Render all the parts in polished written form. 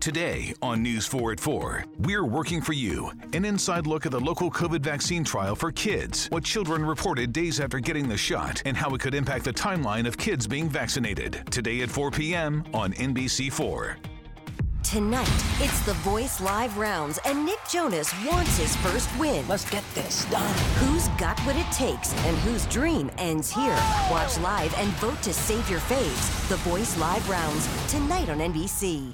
Today on News 4 at 4, we're working for you. An inside look at the local COVID vaccine trial for kids, what children reported days after getting the shot, and how it could impact the timeline of kids being vaccinated. Today at 4 p.m. on NBC4. Tonight, it's The Voice Live rounds, and Nick Jonas wants his first win. Let's get this done. Who's got what it takes and whose dream ends here? Watch live and vote to save your faves. The Voice Live rounds, tonight on NBC.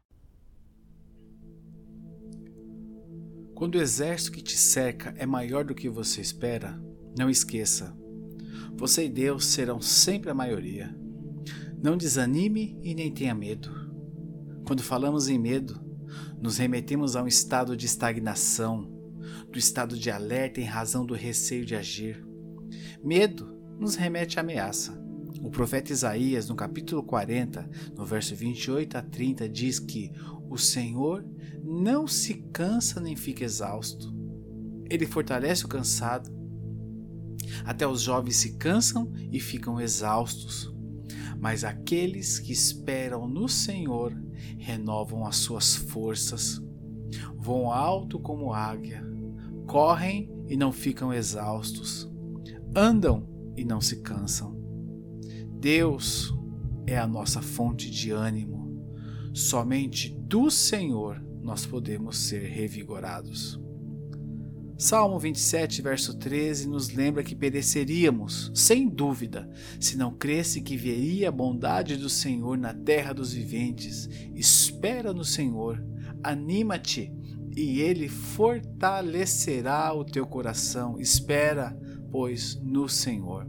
Quando o exército que te cerca é maior do que você espera, não esqueça. Você e Deus serão sempre a maioria. Não desanime e nem tenha medo. Quando falamos em medo, nos remetemos a um estado de estagnação, do estado de alerta em razão do receio de agir. Medo nos remete à ameaça. O profeta Isaías, no capítulo 40, no verso 28 a 30, diz que o Senhor não se cansa nem fica exausto. Ele fortalece o cansado. Até os jovens se cansam e ficam exaustos. Mas aqueles que esperam no Senhor renovam as suas forças. Voam alto como águia. Correm e não ficam exaustos. Andam e não se cansam. Deus é a nossa fonte de ânimo. Somente do Senhor nós podemos ser revigorados. Salmo 27, verso 13, nos lembra que pereceríamos, sem dúvida, se não cresse que veria a bondade do Senhor na terra dos viventes. Espera no Senhor, anima-te, e Ele fortalecerá o teu coração. Espera, pois, no Senhor.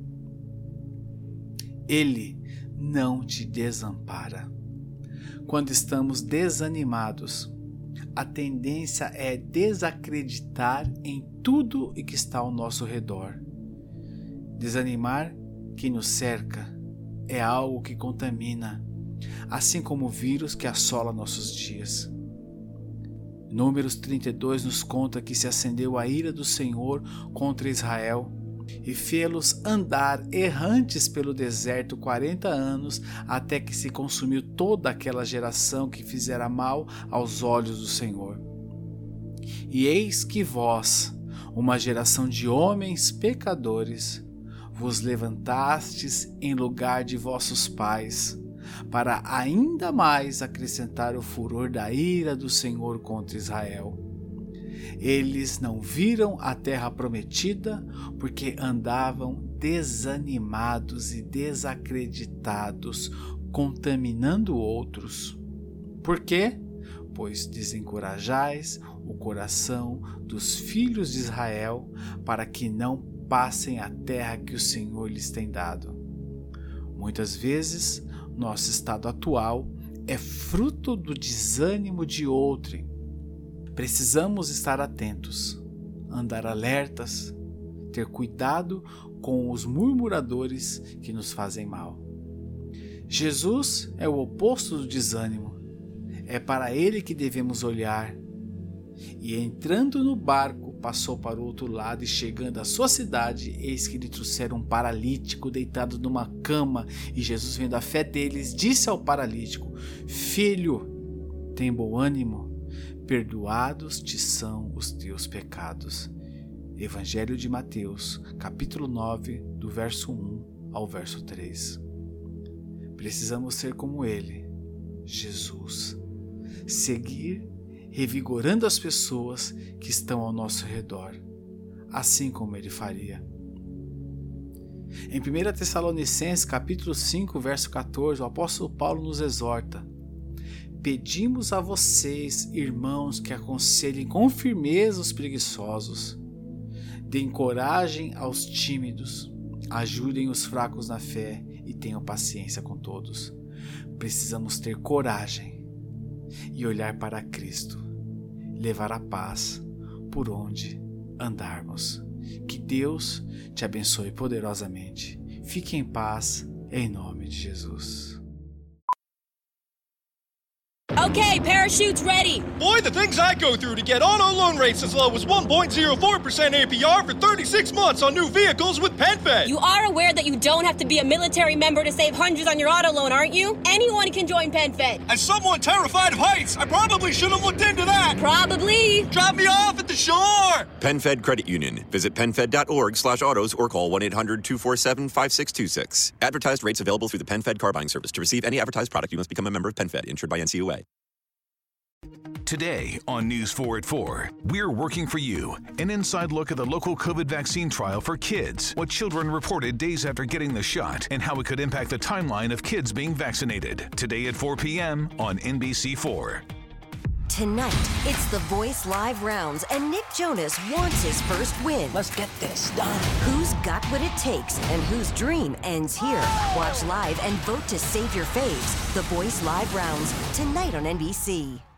Ele não te desampara. Quando estamos desanimados, a tendência é desacreditar em tudo e que está ao nosso redor. Desanimar quem nos cerca é algo que contamina, assim como o vírus que assola nossos dias. Números 32 nos conta que se acendeu a ira do Senhor contra Israel e fê-los andar errantes pelo deserto 40 anos, até que se consumiu toda aquela geração que fizera mal aos olhos do Senhor. E eis que vós, uma geração de homens pecadores, vos levantastes em lugar de vossos pais, para ainda mais acrescentar o furor da ira do Senhor contra Israel. Eles não viram a terra prometida porque andavam desanimados e desacreditados, contaminando outros. Por quê? Pois desencorajais o coração dos filhos de Israel para que não passem a terra que o Senhor lhes tem dado. Muitas vezes, nosso estado atual é fruto do desânimo de outrem. Precisamos estar atentos, andar alertas, ter cuidado com os murmuradores que nos fazem mal. Jesus é o oposto do desânimo. É para ele que devemos olhar. E entrando no barco, passou para o outro lado e chegando à sua cidade, eis que lhe trouxeram um paralítico deitado numa cama. E Jesus, vendo a fé deles, disse ao paralítico: Filho, tem bom ânimo. Perdoados te são os teus pecados. Evangelho de Mateus, capítulo 9, do verso 1 ao verso 3. Precisamos ser como ele, Jesus. Seguir revigorando as pessoas que estão ao nosso redor, assim como ele faria. Em 1 Tessalonicenses, capítulo 5, verso 14, o apóstolo Paulo nos exorta: Pedimos a vocês, irmãos, que aconselhem com firmeza os preguiçosos, deem coragem aos tímidos, ajudem os fracos na fé e tenham paciência com todos. Precisamos ter coragem e olhar para Cristo, levar a paz por onde andarmos. Que Deus te abençoe poderosamente. Fique em paz, em nome de Jesus. Okay, parachute's ready. Boy, the things I go through to get auto loan rates as low as 1.04% APR for 36 months on new vehicles with PenFed. You are aware that you don't have to be a military member to save hundreds on your auto loan, aren't you? Anyone can join PenFed. As someone terrified of heights, I probably should have looked into that. Probably. Drop me off at the shore. PenFed Credit Union. Visit PenFed.org/autos or call 1-800-247-5626. Advertised rates available through the PenFed car buying service. To receive any advertised product, you must become a member of PenFed, insured by NCUA. Today on News 4 at 4, we're working for you. An inside look at the local COVID vaccine trial for kids, what children reported days after getting the shot, and how it could impact the timeline of kids being vaccinated. Today at 4 p.m. on NBC4. Tonight, it's The Voice Live rounds, and Nick Jonas wants his first win. Let's get this done. Who's got what it takes and whose dream ends here? Watch live and vote to save your faves. The Voice Live rounds, tonight on NBC.